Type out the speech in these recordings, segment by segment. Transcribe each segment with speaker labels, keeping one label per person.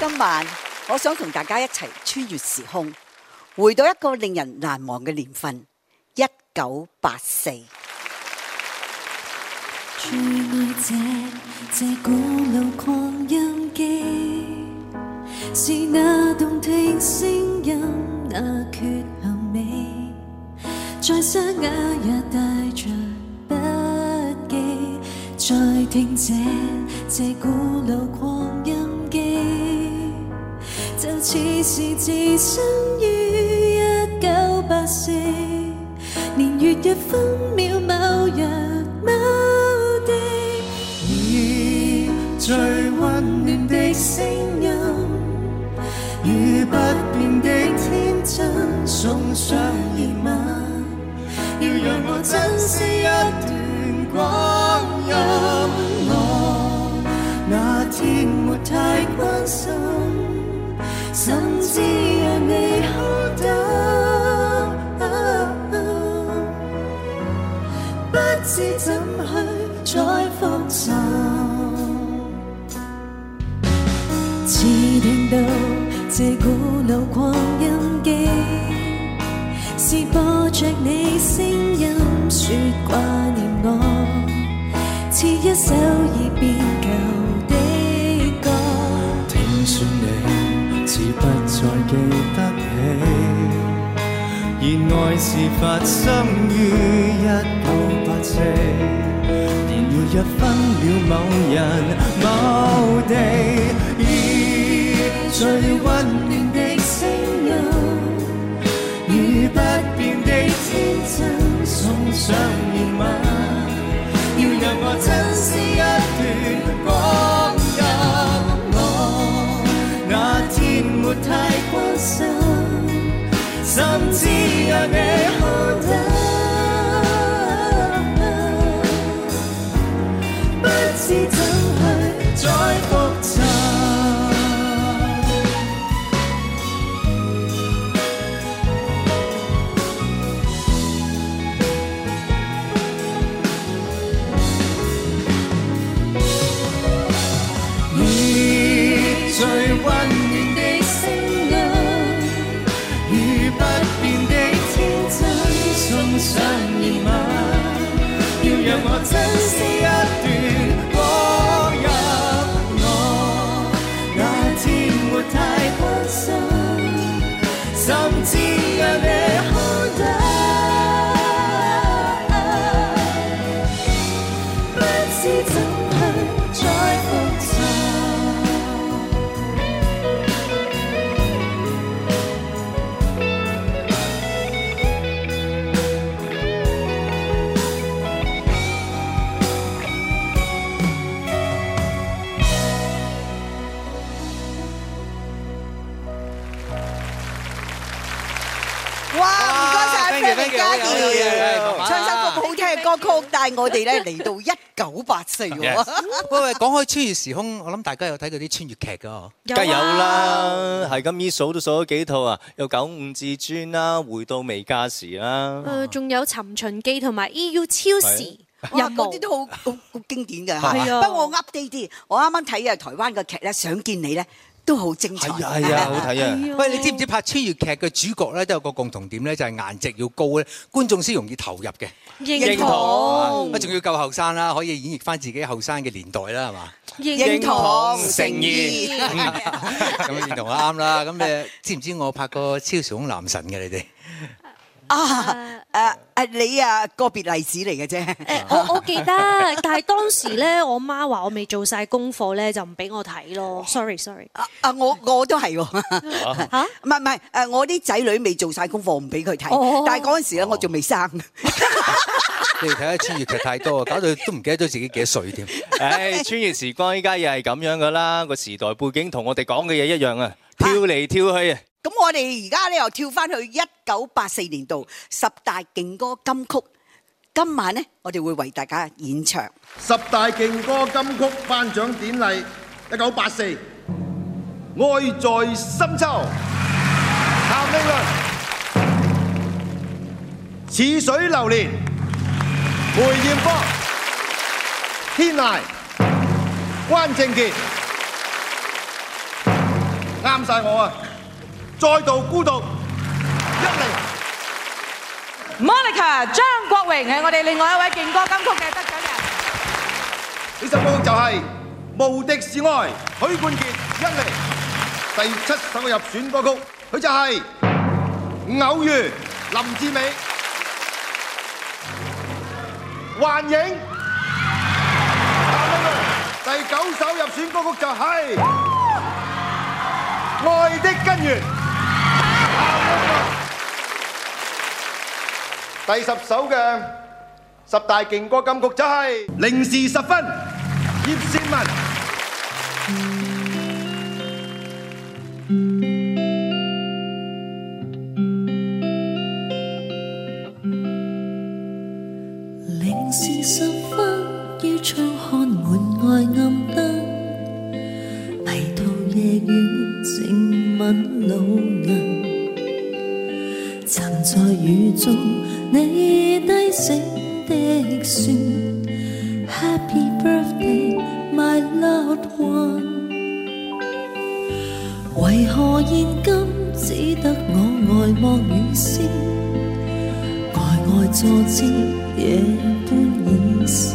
Speaker 1: 今晚我想同大家一齊穿越時空，回到一個令人難忘嘅年份1984。
Speaker 2: 最愛這古老擴音機，是那動聽聲音，那缺陷美，在沙啞也帶着筆記，再聽這古老擴音機，就似是置身於1984年月日分秒某日某地，以最溫暖的聲音與不變的天真送上熱吻，要讓我珍惜一段光陰。我那天沒太關心，甚至讓你哭得不知怎去再復尋，似聽到這古老擴音機，是播着你聲音說掛念我，似一首已變舊的歌。聽說你似不再記得起，而愛是發生於1984年月日分了某人某地，以最溫暖的聲音與不變的天真送上熱吻，要讓我珍惜一段光陰。我那天沒太關心，甚至讓你哭得不知怎去再復尋。以最溫暖的聲音與不變的天真送上熱吻，要讓我珍惜一段光陰。我那天沒太關心，甚至讓你哭得不知怎去再復尋。
Speaker 1: 唱首咁好聽嘅歌曲，帶我哋咧嚟到1984喎。
Speaker 3: 喂，講開穿越時空，我諗大家有睇過啲穿越劇㗎？
Speaker 4: 梗係有啦，係咁依數都數咗幾套啊，有95至尊啦，回到未加時啦，
Speaker 5: 仲有尋秦記同埋 EU 超時。
Speaker 1: 嗰啲都好經典嘅。
Speaker 5: 係啊，
Speaker 1: 不過我 update 啲，我啱啱睇嘅台灣嘅劇咧，想見你咧。都好精彩，
Speaker 4: 係啊，好睇啊！
Speaker 3: 喂，你知唔知拍穿越劇嘅主角咧都有個共同點咧，就係顏值要高咧，觀眾先容易投入嘅。
Speaker 5: 認同，
Speaker 3: 仲要夠後生啦，可以演繹翻自己後生嘅年代啦，係嘛？
Speaker 1: 認同誠意，
Speaker 3: 咁認同啱啦。咁你知唔知我拍過超時空男神嘅你哋？
Speaker 1: 你個別例子嚟嘅啫。
Speaker 5: 我記得，但係當時咧，我媽話我未做晒功課咧，就唔俾我睇咯。Sorry。
Speaker 1: 我都係喎。嚇？唔係，我啲仔女未做晒功課，唔俾佢睇。但係嗰陣時咧，我仲未生。
Speaker 3: 你哋睇下穿越劇太多，搞到都唔記得咗自己幾多歲添。
Speaker 4: 唉，穿越時光依家又係咁樣噶啦，個時代背景同我哋講嘅嘢一樣啊，跳嚟跳去啊！
Speaker 1: 咁我哋而家咧又跳翻去1984年度10大勁歌金曲。今晚咧，我哋會為大家演唱
Speaker 6: 10大勁歌金曲頒獎典禮1984，愛在深秋，譚詠麟，似水流年，梅艷芳，天籟，關正傑， 啱晒我啊！再度孤獨一零。
Speaker 7: Monica 張國榮係我哋另外一位勁歌金曲嘅得獎人。
Speaker 6: 呢首歌就係《無敵是愛》，許冠傑一零。第7首入選歌曲，佢就係《偶遇》，林志美。幻影。第9首入選歌曲就係《愛的根源》。第10首嘅10大勁歌金曲就係《零時10分》，葉倩文。
Speaker 2: 零時10分，於窗看門外暗燈，迷途夜雨靜吻路人，曾在雨中你低聲的說 Happy birthday my loved one， 為何現今只得我呆望雨絲，呆呆坐姿夜半已是，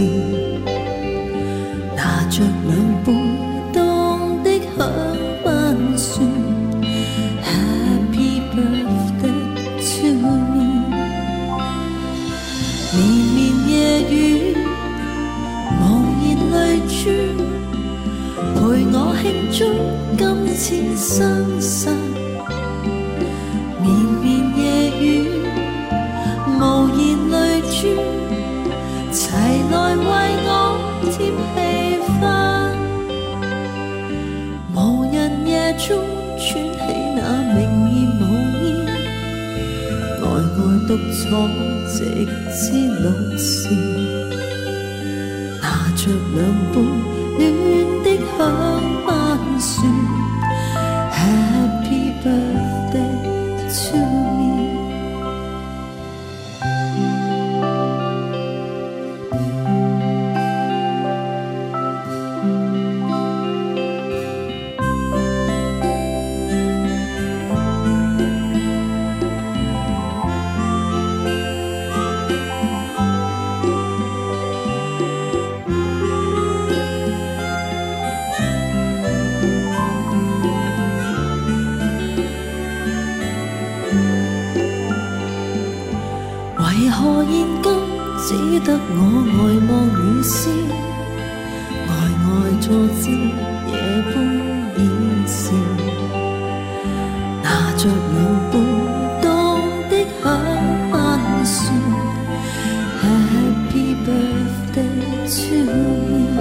Speaker 2: 拿着兩杯凍的香檳說 Happy birthday to me， 綿綿夜雨無言淚珠，陪我慶祝今次生日，綿綿夜雨無言淚珠，齊來為我添氣氛，無人夜中串起那明豔舞衣，呆呆獨坐直至老時，拿着兩杯暖的香檳說 Happy birthday to me。為何現今只得我呆望雨絲，呆呆坐姿夜半已是，拿着兩杯凍的香檳說 Happy birthday to me，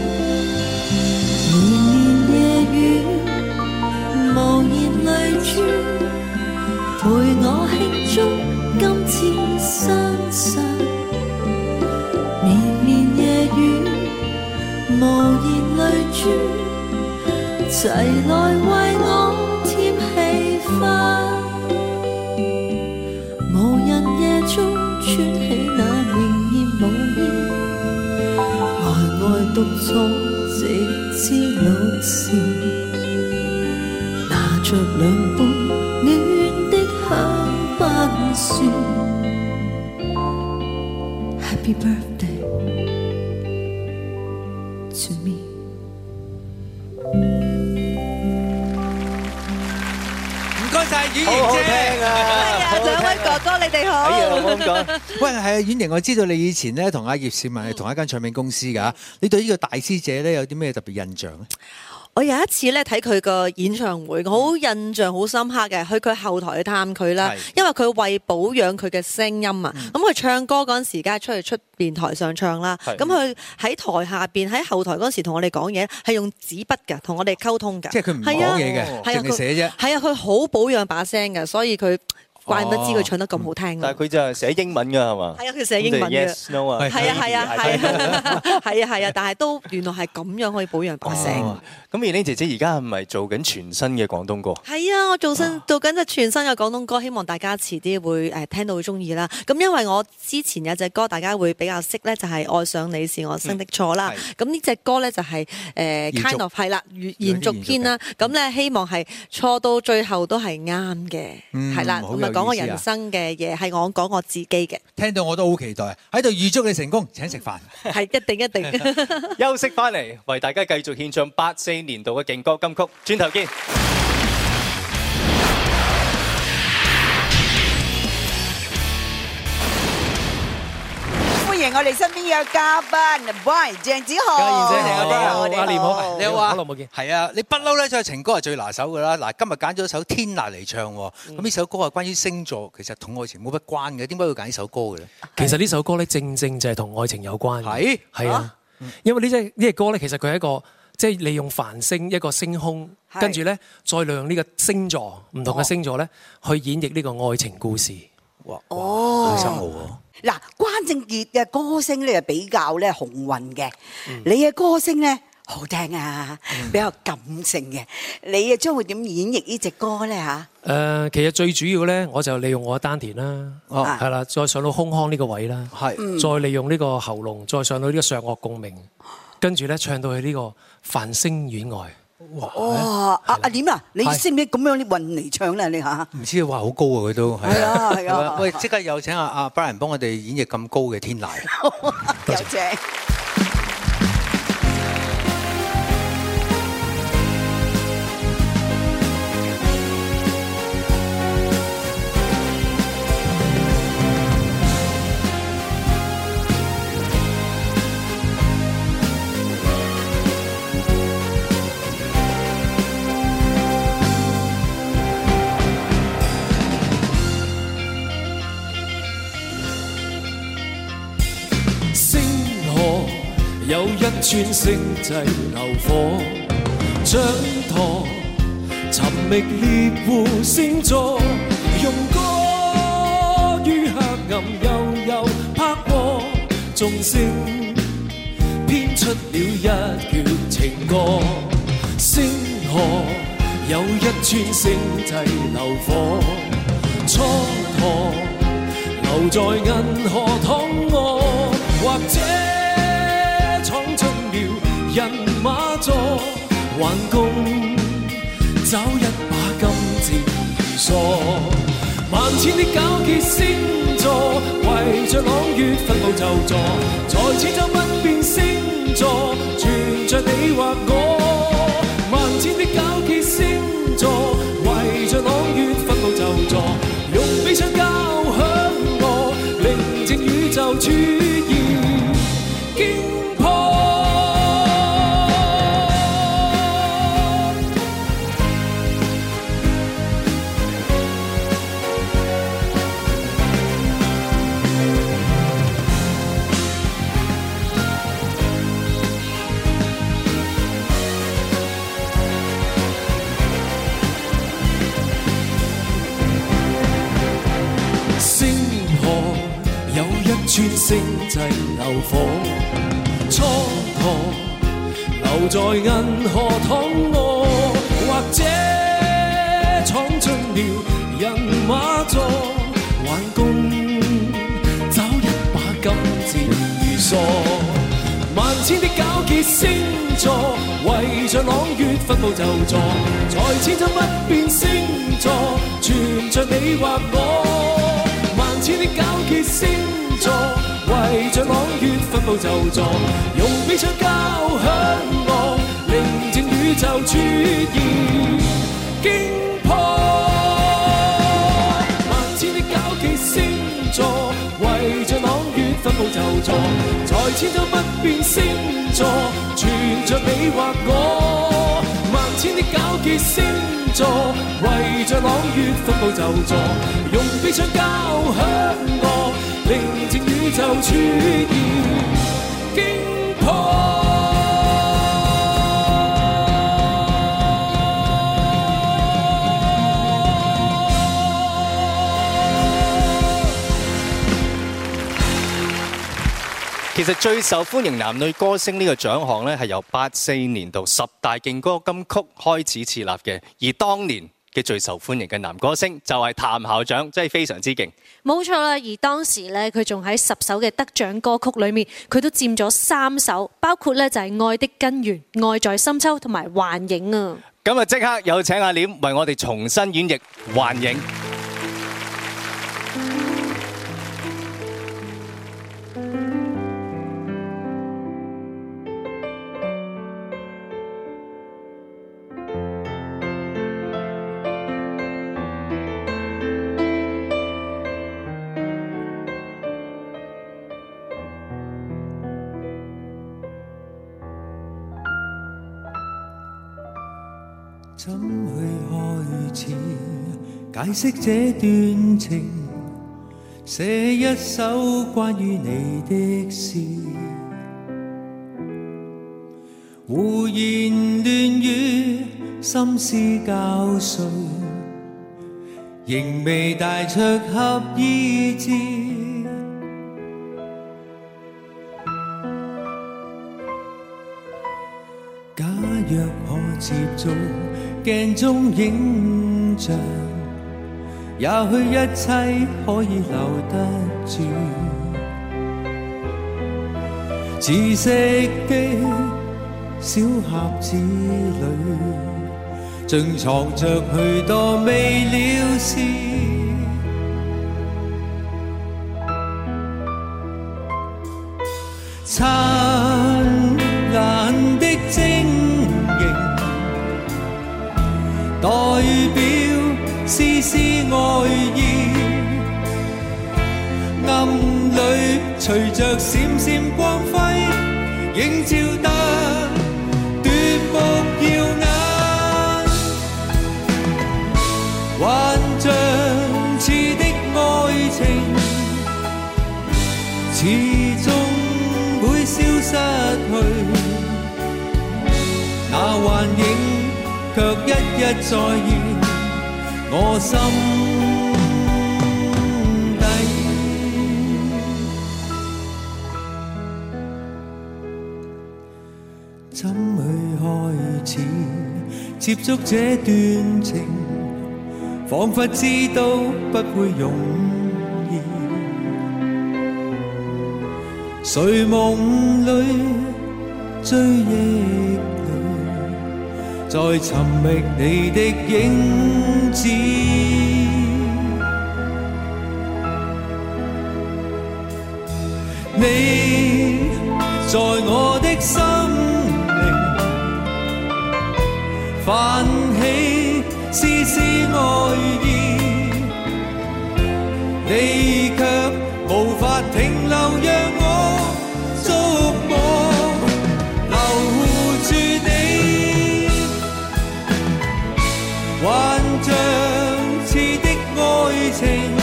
Speaker 2: 綿綿夜雨無言淚珠，陪我慶祝今次生日，綿綿夜雨無言淚珠，齊來為我添氣氛，無人夜中穿起那明豔舞衣，呆呆獨坐直至老時，拿着兩杯暖的香檳說 Happy birthday to me。
Speaker 3: 唔該晒婉
Speaker 4: 好好
Speaker 3: 瑩姐。
Speaker 4: 聽啊！
Speaker 1: 兩位哥哥你哋好。
Speaker 4: 哎呀，我咁講。
Speaker 3: 喂，係啊，婉瑩，我知道你以前咧同阿葉倩文係同一間唱片公司㗎，你對呢個大師姐咧有啲咩特別印象咧？
Speaker 8: 我有一次咧睇佢個演唱會，我好印象好深刻嘅，去佢後台去探佢啦，因為佢為保養佢嘅聲音啊，咁佢唱歌嗰陣時，梗係出邊台上唱啦，咁佢喺台下邊喺後台嗰陣時同我哋講嘢，係用紙筆㗎，同我哋溝通㗎，
Speaker 3: 即係佢唔講嘢嘅，淨係寫啫。
Speaker 8: 係啊，佢好保養把聲㗎，所以佢怪唔得知佢唱得咁好聽。
Speaker 4: 但係佢就係寫英文㗎係嘛？
Speaker 8: 係啊，佢寫英文嘅。
Speaker 4: Yes No 啊。
Speaker 8: 係啊，但係都原來係咁樣可以保養把聲。
Speaker 4: 咁燕玲姐姐而家係咪做緊全新嘅廣東歌？
Speaker 8: 係啊，我做緊隻全新嘅廣東歌，希望大家遲啲會聽到會中意啦。咁因為我之前有隻歌大家會比較識咧，就係愛上你是我生的錯啦。咁呢隻歌咧就係kind of 係啦，延續篇啦。咁咧希望係錯到最後都係啱嘅，係啦。咁啊講我人生嘅嘢，係我講我自己嘅。
Speaker 3: 聽到我都好期待，喺度預祝你成功，請食飯。
Speaker 8: 係一定。
Speaker 4: 休息翻嚟，為大家繼續獻唱84年度嘅勁歌金曲，轉頭見。
Speaker 1: 歡迎我哋身邊有嘉賓 Brian 鄭子豪。
Speaker 3: 嘉燕姐，你好，
Speaker 9: 阿廉好，
Speaker 3: 你好啊，
Speaker 9: 好耐冇見。
Speaker 3: 係啊，你不嬲咧，唱情歌係最拿手㗎啦。嗱，今日揀咗首《天籟》嚟唱喎。咁呢首歌係關於星座，其實同愛情冇乜關嘅。點解要揀呢首歌嘅咧？
Speaker 9: 其實呢首歌咧，正就係同愛情有關嘅。係啊，因為呢隻歌咧，其實佢係一個即係利用繁星一個星空，跟住咧再利用呢個星座唔同嘅星座咧去演繹呢個愛情故事。
Speaker 3: 哇！好深奧喎。
Speaker 1: 嗱，關正傑嘅歌聲咧比較咧雄渾嘅，你嘅歌聲咧好聽啊，比較感性嘅。你將會點演繹呢隻歌咧嚇？
Speaker 9: 其實最主要咧，我就利用我嘅丹田啦，係啦，再上到胸腔呢個位啦，再利用呢個喉嚨，再上到呢個上顎共鳴，跟住咧唱到去呢個繁星苑外。
Speaker 1: 哇！阿廉啊，你識唔識咁樣啲運嚟唱咧？你嚇？
Speaker 3: 唔知話好高啊！佢都
Speaker 1: 係啊！
Speaker 3: 喂，即刻有請阿 Brian 幫我哋演繹咁高嘅《天籟》。
Speaker 1: 有請。
Speaker 10: 有一串星際流火，掌舵尋覓獵戶星座，用歌於黑暗悠悠拍和，眾星編出了一闕情歌。星河有一串星際流火，蹉跎留在銀河躺臥，或者闖進了人馬座，橫共找一把金箭如梭。萬千的皎潔星座，圍着朗月分佈就座，在千秋不變星座，存着你或我。萬千的皎潔星座，圍着朗月分佈就座，用悲傷交響樂，寧靜宇宙主義驚破。穿星際流火，蹉跎留在銀河躺臥，或者闖進了人馬座，橫共找一把金箭如梭。萬千的皎潔星座，圍着朗月分佈就座，在千秋不變星座，存着你或我。萬千的皎潔星座，圍着朗月分佈就座，用悲傷交響樂，寧靜宇宙主義驚破。萬千的皎潔星座，圍着朗月分佈就座，在千秋不變星座，存着你或我。萬千的皎潔星座，圍着朗月分佈就座，用悲傷交響樂，寧靜宇宙主義驚破。
Speaker 4: 其實最受歡迎男女歌星呢個獎項咧，係由84年度10大勁歌金曲開始設立嘅，而當年嘅最受歡迎嘅男歌星就係譚校長，真係非常之勁。
Speaker 5: 冇錯啦，而當時咧佢仲喺10首嘅得獎歌曲裏面，佢都佔咗3首，包括咧就係《愛的根源》、《愛在深秋》同埋《幻影》啊。
Speaker 4: 咁啊，即刻有請阿廉為我哋重新演繹《幻影》。
Speaker 10: 怎去開始解釋這段情？寫一首關於你的詩，胡言亂語，心思交瘁，仍未帶出合意志。假若可接觸鏡中影像，也許一切可以留得住。知識的小盒子裏，盡藏着許多未了事。燦爛的晶瑩，代表絲絲愛意，暗裏隨着閃閃光輝，映照得奪目耀眼，幻象似的愛情，始終會消失去，那幻影卻一一再現我心底。怎去開始接觸這段情？彷彿知道不會容易。睡夢裏追憶裏，再尋覓你的影子。你在我的心靈泛起絲絲愛意，你卻無法停留，讓我觸摸留住你，幻象似的愛情，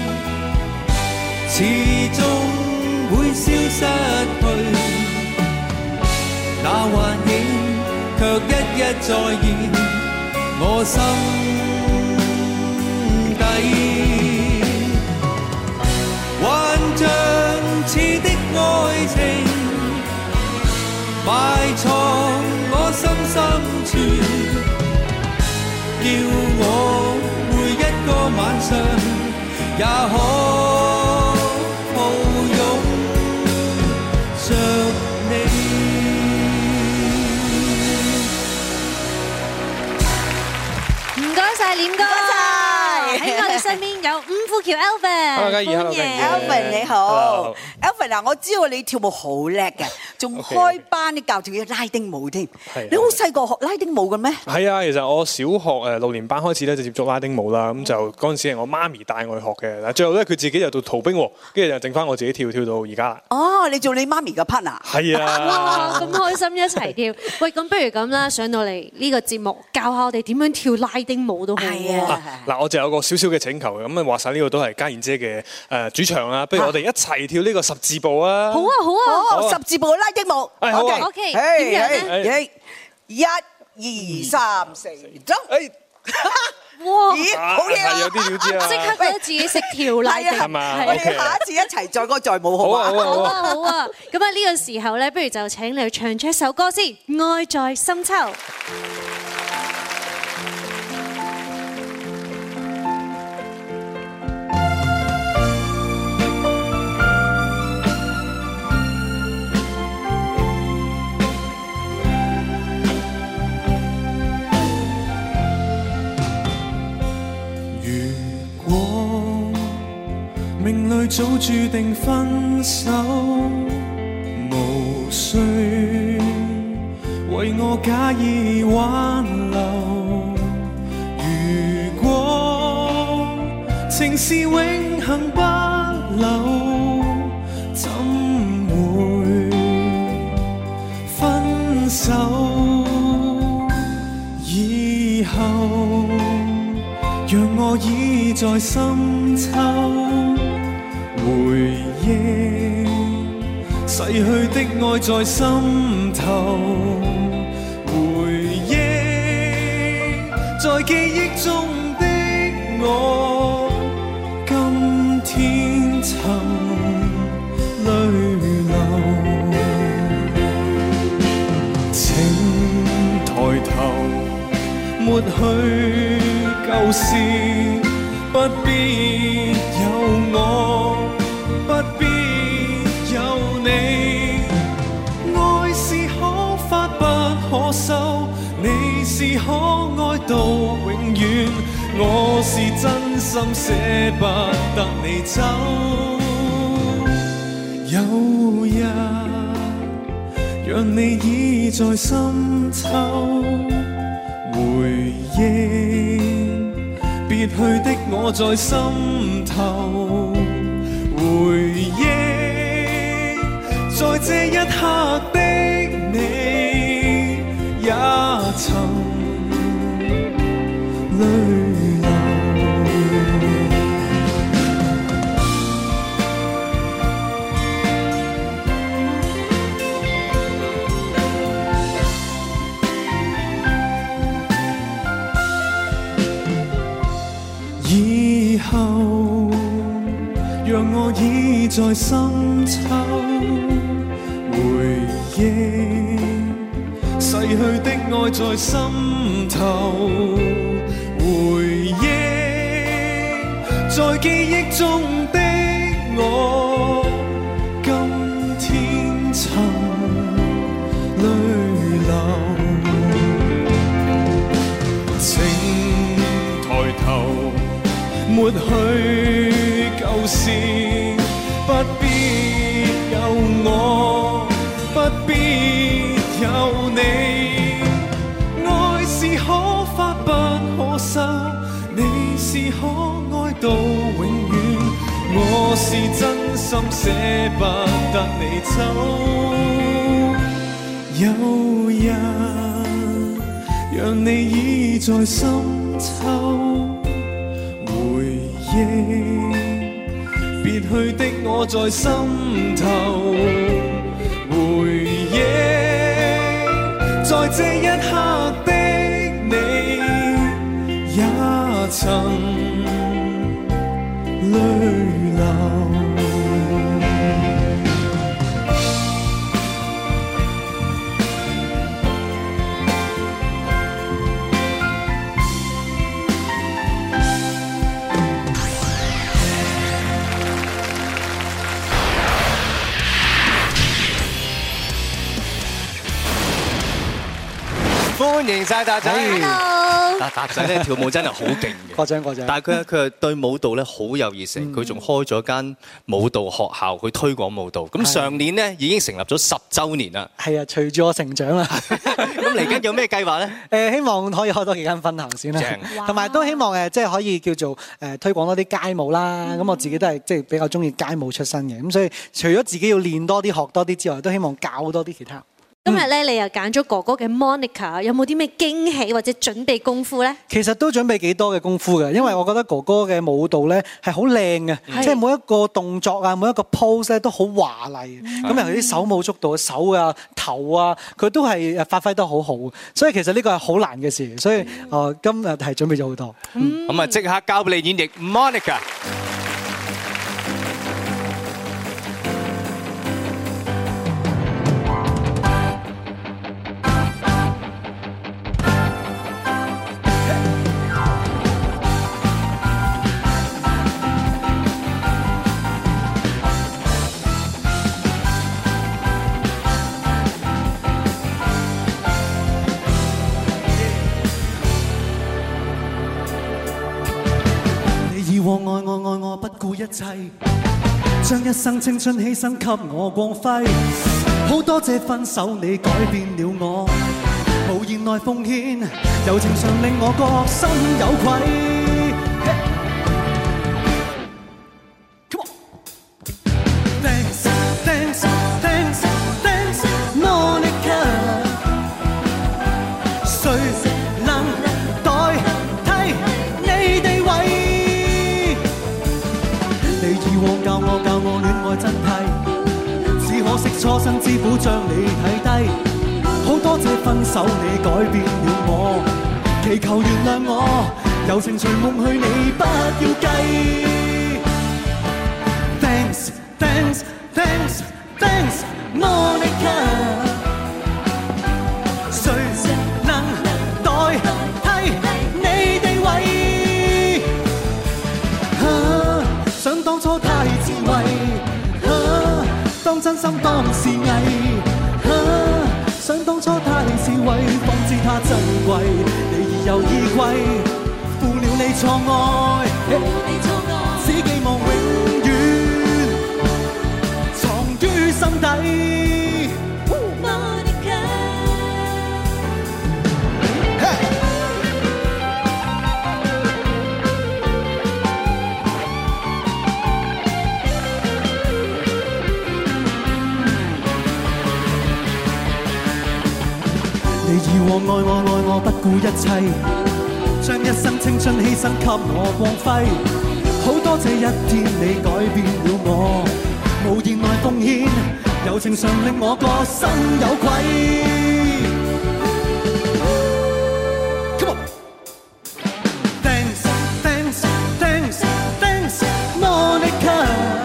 Speaker 10: 始終會消失去，那幻影卻一一再現我心底，幻象似的愛情埋藏我心深處，叫我每一個晚上也可抱擁着你。
Speaker 5: 唔該晒廉哥，喺我哋身邊有伍富橋 Alvin，
Speaker 11: 歡迎
Speaker 1: Alvin 你好 ，Alvin 嗱，我知道你跳舞好叻嘅，仲開班教跳拉丁舞添。你好細個學拉丁舞嘅咩？
Speaker 11: 係啊，其實我小學6年班開始咧就接觸拉丁舞啦，咁就嗰陣時係我媽咪帶我去學嘅，但最後咧佢自己就到逃兵喎，跟住就剩翻我自己跳到而家啦。
Speaker 1: 哦，你做你媽咪嘅 partner？ 係
Speaker 11: 啊！
Speaker 5: 哇，咁開心一齊跳。喂，咁不如咁啦，上到嚟呢個節目教下我哋點樣跳拉丁舞都好喎。
Speaker 11: 嗱，我就有個少少嘅請求嘅，咁啊話晒呢個都係家燕姐嘅主場啦，不如我哋一齊跳呢個十字步啊！
Speaker 5: 好啊，好啊，
Speaker 1: 十字步嘅拉丁舞。
Speaker 5: OK，點樣咧？
Speaker 1: 1、2、3、4，走！
Speaker 5: 哇！
Speaker 1: 咦，好嘢啊！
Speaker 11: 係有啲料知啊。
Speaker 5: 即刻覺得自己識跳啦，
Speaker 11: 係嘛
Speaker 1: 我哋下一次一齊載歌載舞好嘛？
Speaker 5: 好啊好啊！咁啊呢個時候咧，不如就請你唱出一首歌先，《愛在深秋》。
Speaker 10: 命裏早注定分手，無需為我假意挽留。如果情是永恆不朽，怎會分手？以後讓我倚在深秋，回憶逝去的愛在心頭，回憶在記憶中的我，今天曾淚流。請抬頭，抹去舊事，不必有我，不必有你。愛是可發不可收，你是可愛到永遠，我是真心捨不得你走。有日讓你倚在深秋，回憶別去的我在心頭，回憶在這一刻的你，也曾淚以後讓我倚在深秋，回憶逝去的愛在心頭，回憶在記憶中的我，今天曾淚流。請抬頭，抹去舊事，不必有我，不必有你。愛是可發不可收，你是可愛到永遠，我是真心捨不得你走。有日讓你倚在深秋，別去的我在心頭，回憶在這一刻的你，也曾淚流。
Speaker 4: 歡迎晒達仔。
Speaker 5: Hello。
Speaker 4: 達仔咧跳舞真係好勁嘅，
Speaker 12: 過獎。
Speaker 4: 但係佢對舞蹈咧好有熱誠，佢仲開咗間舞蹈學校去推廣舞蹈。咁上年咧已經成立咗10週年啦。
Speaker 12: 係啊，隨住我成長啦。
Speaker 4: 咁嚟緊有咩計劃咧？
Speaker 12: 希望可以開多幾間分行先啦。同埋都希望即係可以叫做推廣多啲街舞啦。咁我自己都係即係比較中意街舞出身嘅。咁所以除咗自己要練多啲、學多啲之外，都希望教多啲其他。
Speaker 5: 今日咧，你又揀咗哥哥嘅 Monica， 有冇啲咩驚喜或者準備功夫咧？
Speaker 12: 其實都準備幾多嘅功夫嘅，因為我覺得哥哥嘅舞蹈咧係好靚嘅，即係每一個動作啊，每一個 pose 咧都好華麗。咁尤其啲手舞足蹈嘅手啊、頭啊，佢都係發揮得好好。所以其實呢個係好難嘅事，所以今日係準備咗好多。
Speaker 4: 咁啊，即刻交俾你演繹 Monica。
Speaker 10: 愛我不顧一切，將一生青春犧牲給我光輝。好多謝分手你改變了我，無言內奉獻，柔情常令我覺心有愧。Thanks, thanks, thanks, thanks, Monica。誰能代替你地位？你以往教我戀愛真諦，只可惜初生之虎將你睇低。好多謝分手你改變了我，祈求原諒我，柔情隨夢去你不要計。Thanks, thanks, thanks, thanks, Monica。誰能代替你地位？想當初太自衛，當真心當是偽。想當初太是為，方知他珍貴。你已有依歸，負了你錯愛，只寄望永遠藏於心底。你以往愛我不顧一切，將一生青春犧牲給我光輝。好多這一天你改變了我，無言來奉獻，柔情常令我個心有愧。Come on， Thanks, thanks, thanks, thanks, Monica。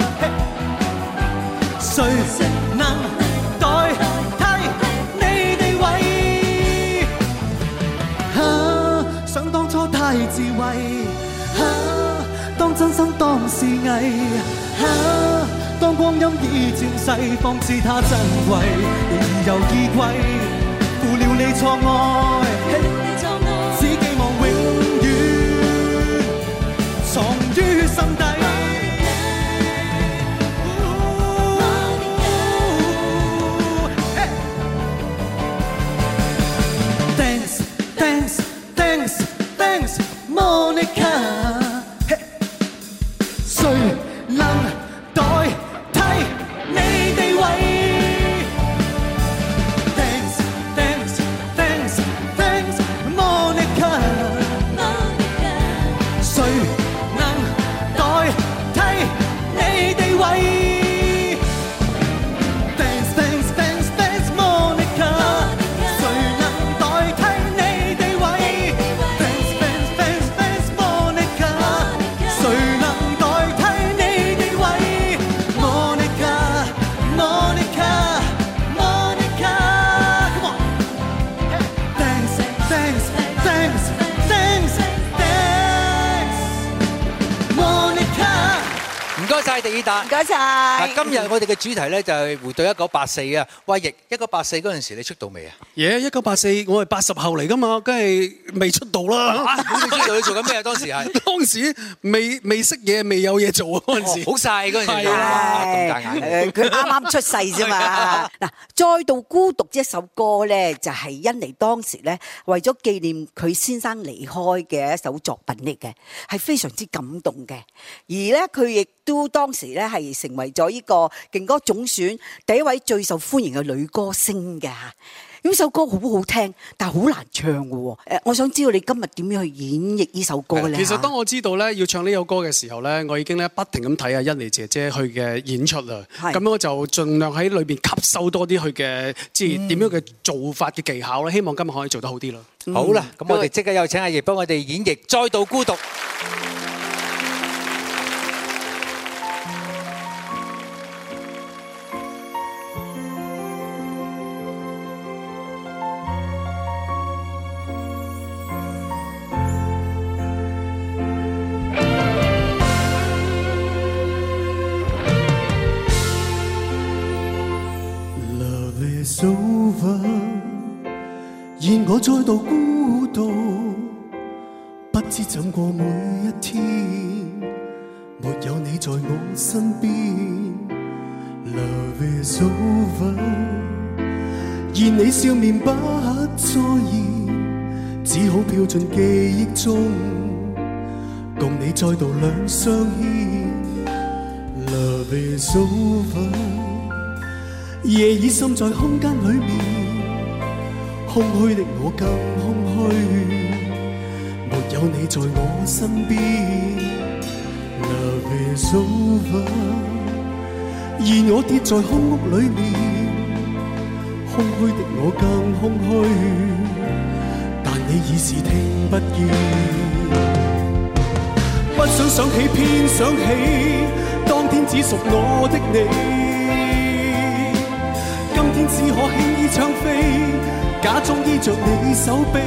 Speaker 10: 誰能代替你地位？想當初太自衛，當真心當是偽，當光陰已漸逝，方知他珍貴。你已有依歸，負了你錯愛，只寄望永遠藏於心底。Thanks, thanks, thanks, thanks, Monica。誰能代替你地位？ Thanks, thanks, thanks, thanks, Monica。誰能代替你地位？Thanks, thanks, thanks, thanks, Monica。誰能代替你地位？Thanks, thanks, thanks, thanks, Monica。誰能代替你地位？Monica, Monica, Monica。Come on。Thanks, thanks, thanks, thanks, thanks, Monica。
Speaker 3: 唔該晒狄爾達，
Speaker 1: 唔該晒。
Speaker 3: 嗱，今日我哋嘅主題咧就係回到1984啊。喂，亦1984嗰陣時你出道未啊
Speaker 13: ？1984我係80後嚟噶嘛，梗係未出道啦。
Speaker 3: 咁你出道你做緊咩啊？當時係
Speaker 13: 當時未識嘢，未有嘢做啊嗰陣時。
Speaker 3: 好晒嗰陣時。
Speaker 1: 係啊，
Speaker 3: 咁大眼。
Speaker 1: 佢啱啱出世啫嘛。嗱，再度孤獨一首歌咧，就係甄妮當時咧為咗紀念佢先生離開嘅一首作品嚟嘅，係非常之感動嘅。而咧佢亦都都當時咧係成為咗呢個勁歌總選第一位最受歡迎嘅女歌星嘅。呢首歌好好聽，但係好難唱嘅喎。我想知道你今日點樣去演繹呢首歌咧？
Speaker 13: 其實當我知道咧要唱呢首歌嘅時候咧，我已經咧不停咁睇阿欣妮姐姐佢嘅演出啦。咁我就盡量喺裏邊吸收多啲佢嘅即係點樣嘅做法嘅技巧啦。希望今日可以做得好啲咯。
Speaker 3: 好啦，咁我哋即刻有請阿葉幫我哋演繹《再度孤獨》。
Speaker 10: 現我再度孤獨，不知怎過每一天，沒有你在我身邊。Love is over， 現你笑面不再現，只好飄進記憶中，共你再度兩相牽。Love is over， 夜已滲在空間裏面。空虛的我更空虛，沒有你在我身邊。Love is over， 而我跌在空屋裏面，空虛的我更空虛，但你已是聽不見。不想想起，偏想起，當天只屬我的你，今天只可輕易唱飛。假裝依着你手臂，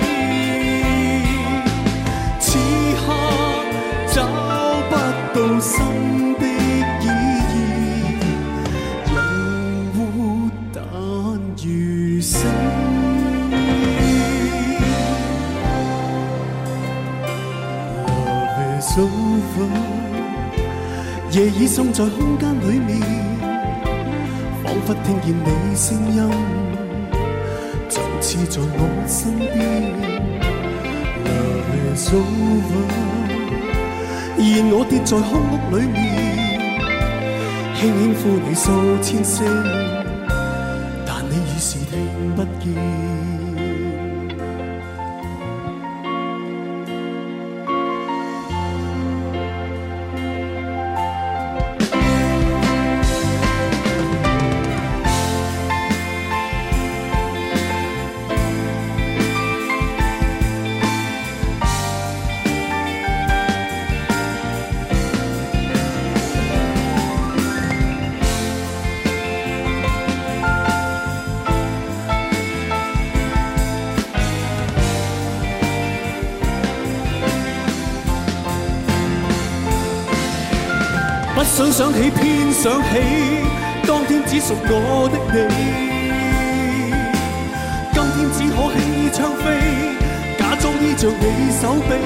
Speaker 10: 此刻找不到心的意義，人活但如死。Love is over， 夜已滲在空間裏面，彷彿聽見你聲音。似在我身邊 ，Love is over， 而我跌在空屋裏面，輕輕呼你數千聲，但你已是聽不見。想想起，偏想起，當天只屬我的你，今天只可輕易唱飛，假裝依着你手臂，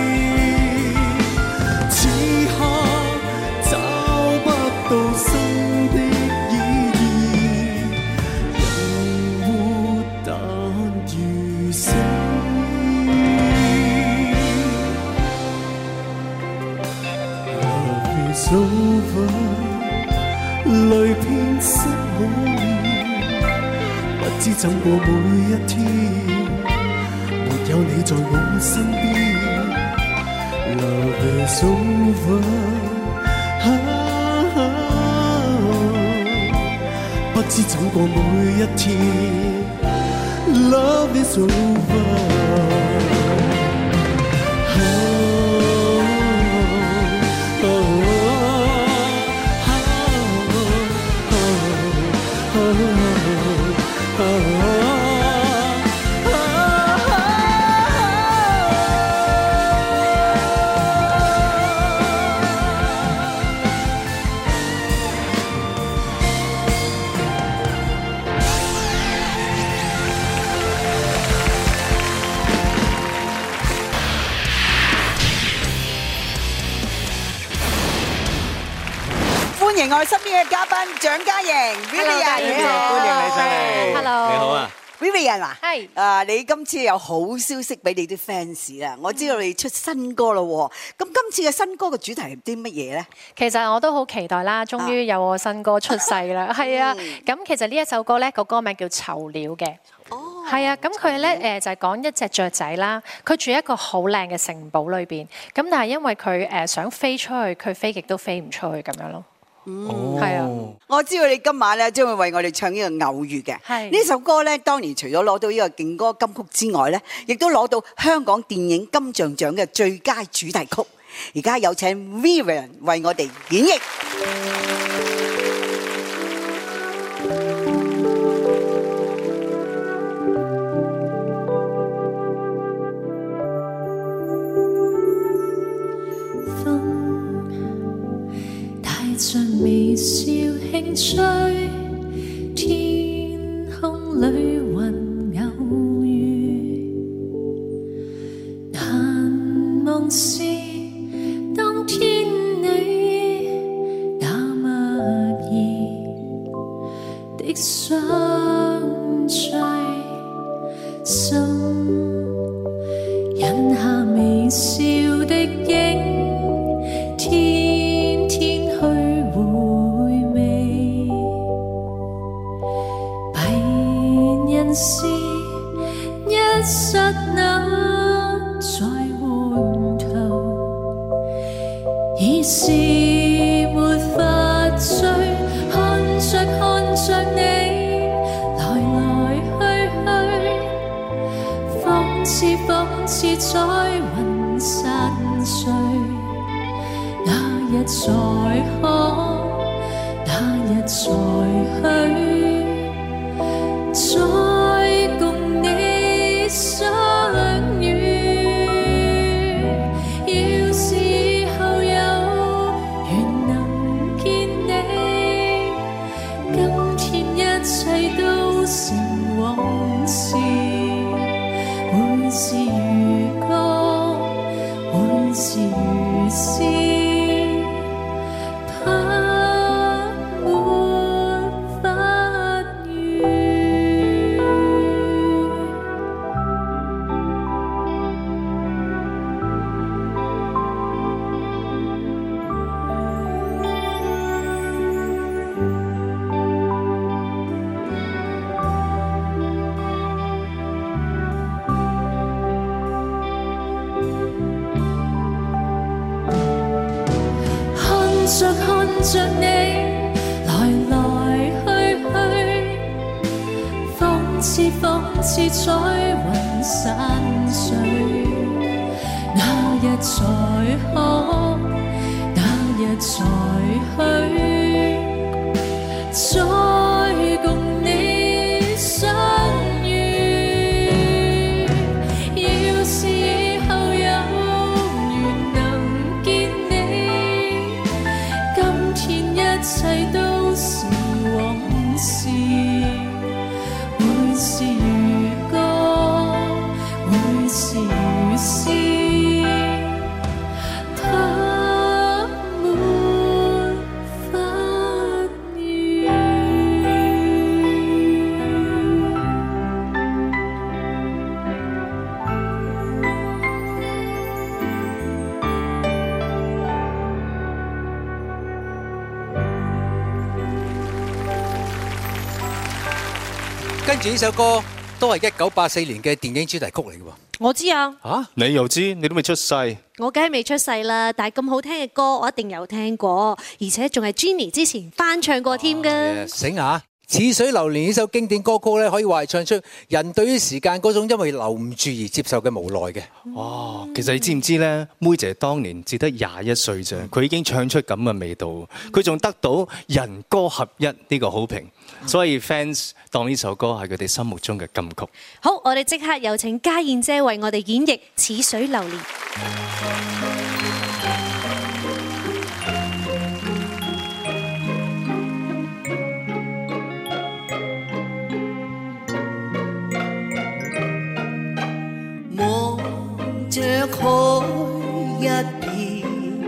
Speaker 10: 此刻找不到新的意義，人活但如死。Love is over， 淚遍濕我面，不知怎過每一天，沒有你在我身邊。Love is over， 不知怎過每一天。Love is over。
Speaker 1: 歡迎我身邊嘅嘉賓蔣嘉瑩 ，Vivian，你好，
Speaker 4: 歡迎你上嚟。
Speaker 5: Hello，
Speaker 4: 你好啊。
Speaker 1: Vivian 啊，
Speaker 7: 係
Speaker 1: 你今次有好消息俾你啲 fans 啦！我知道你出新歌啦喎，咁今次嘅新歌嘅主題係啲乜嘢咧？
Speaker 14: 其實我都好期待啦，終於有我新歌出世啦，係啊！咁其實呢一首歌咧個歌名叫《囚鳥》嘅。係啊，咁佢咧就係講一隻雀仔啦，佢住一個好靚嘅城堡裏邊，咁但係因為佢想飛出去，佢飛極都飛唔出去咁樣咯。係啊，
Speaker 1: 我知道你今晚咧將會為我哋唱呢個偶遇嘅。呢首歌咧，當年除咗攞到呢個勁歌金曲之外咧，亦都攞到香港電影金像獎嘅最佳主題曲。而家有請 Vivian 為我哋演繹。
Speaker 2: 像微笑輕吹，天空裏雲偶遇，難忘是當天你那默然的相聚，心引下微笑的影。是一剎那在回頭，已是沒法追，看着你來來去去，仿似在雲散碎，那日再可，那日再去。再共你相遇，要是以後有緣能見你，今天一切都成往事，會是如歌，會是如詩。看着你來來去去，仿似在雲散碎，那日才可，那日才去，再共你相遇，要是以後有緣能見你，今天一切都是往事，會是如歌，會是如詩，它沒法語。
Speaker 3: 跟住呢首歌都係1984年嘅電影主題曲嚟嘅喎。
Speaker 5: 我知啊。
Speaker 4: 嚇，你又知？你都未出世。
Speaker 5: 我梗係未出世啦，但係咁好聽嘅歌，我一定有聽過，而且仲係 Jenny 之前翻唱過添㗎。
Speaker 3: 醒下！似水流年呢首經典歌曲咧，可以話係唱出人對於時間嗰種因為留唔住而接受嘅無奈嘅。
Speaker 4: 哦，其實你知唔知咧？妹姐當年只得21歲啫，佢已經唱出咁嘅味道，佢仲得到人歌合一呢個好評，所以 fans 當呢首歌係佢哋心目中嘅金曲。
Speaker 5: 好，我哋即刻有請家燕姐為我哋演繹《似水流年》。
Speaker 15: 着海一片，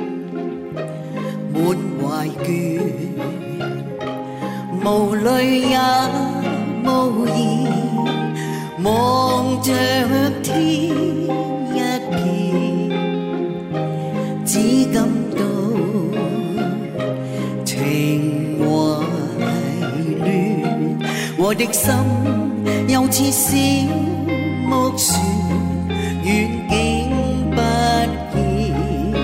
Speaker 15: 滿懷倦，無淚也無言， 望着天一片，只感到情懷亂，我的心又似小木船，遠景不見，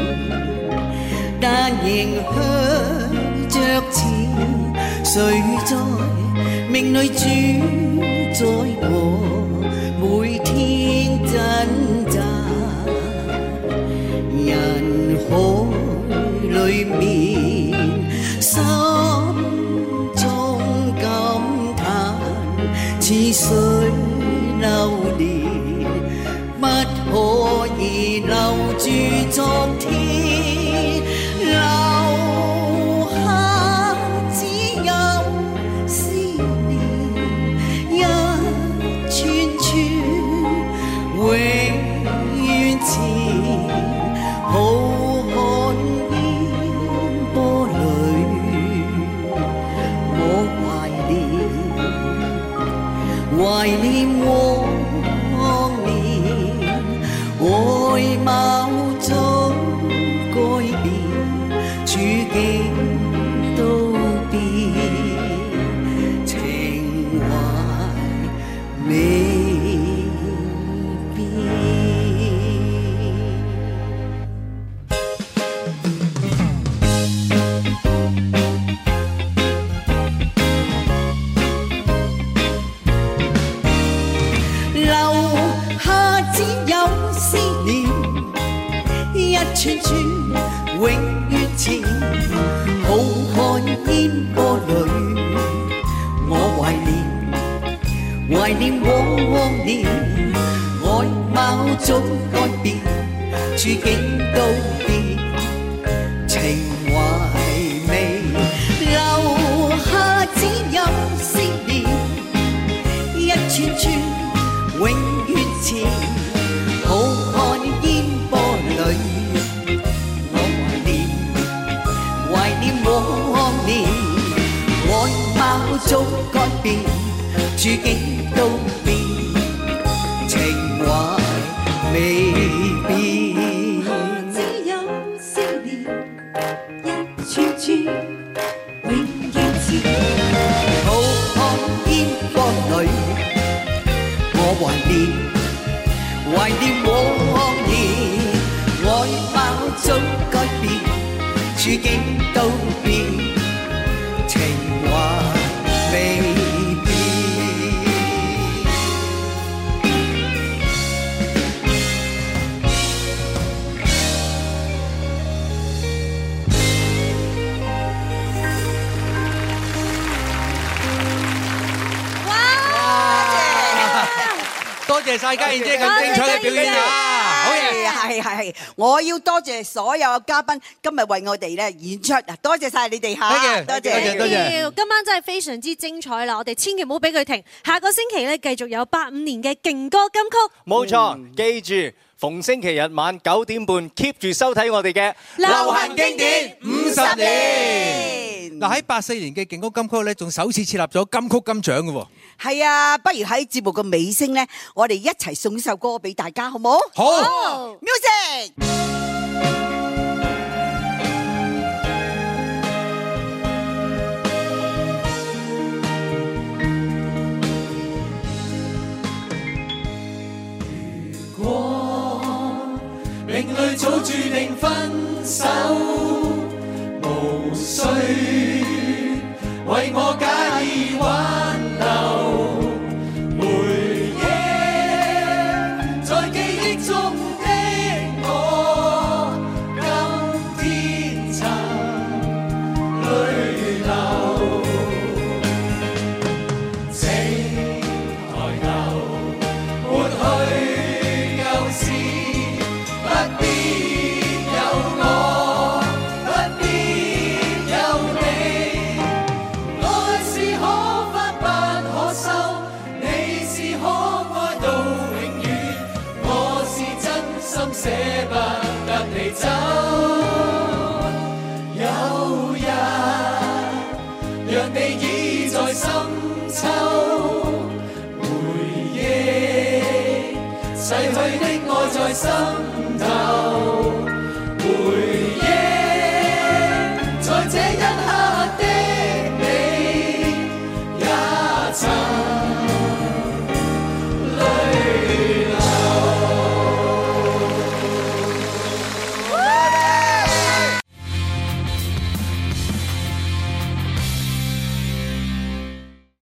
Speaker 15: 但仍向着前。誰在命裏主宰我？每天掙扎，人海裏面，心中感嘆，似水流年，不可以留住昨天，留下只有思念，一串串永遠前，浩瀚煙波裏，我懷念往年，外貌早改變，處境都變，情懷未串串永遠前，浩瀚煙波裏，我懷念往年，外貌早改變，處境都變，情懷未留下，只有思念，一串串永遠前，浩瀚煙波裏。往年外貌早改變，處境都變，情懷未變。只有思念，一串串永遠前。浩瀚煙波裏，我懷念往年，外貌早改變。處境都變，情懷未變。
Speaker 3: 多謝晒嘉燕姐咁精彩嘅表演啊！好嘢，
Speaker 1: 係，我要多謝所有嘅嘉賓今日為我哋咧演出，多謝晒你哋嚇，多謝。
Speaker 5: 今晚真係非常之精彩啦！我哋千祈唔好俾佢停，下個星期咧繼續有85年嘅勁歌金曲。
Speaker 4: 冇錯，記住逢星期日晚9點半 keep 住收睇我哋嘅
Speaker 3: 流行經典50年。嗱喺84年嘅勁歌金曲咧，仲首次設立咗金曲金獎嘅喎。
Speaker 1: 係啊，不如喺節目嘅尾聲咧，我哋一齊送呢首歌俾大家，好冇？
Speaker 3: 好
Speaker 1: ，music。
Speaker 10: 如果命裏早注定分手，無需為我假意挽留。回憶在記憶中的我，今天曾淚流。請抬頭抹去舊事，不必有我。 逝去的愛在心頭，回憶在這一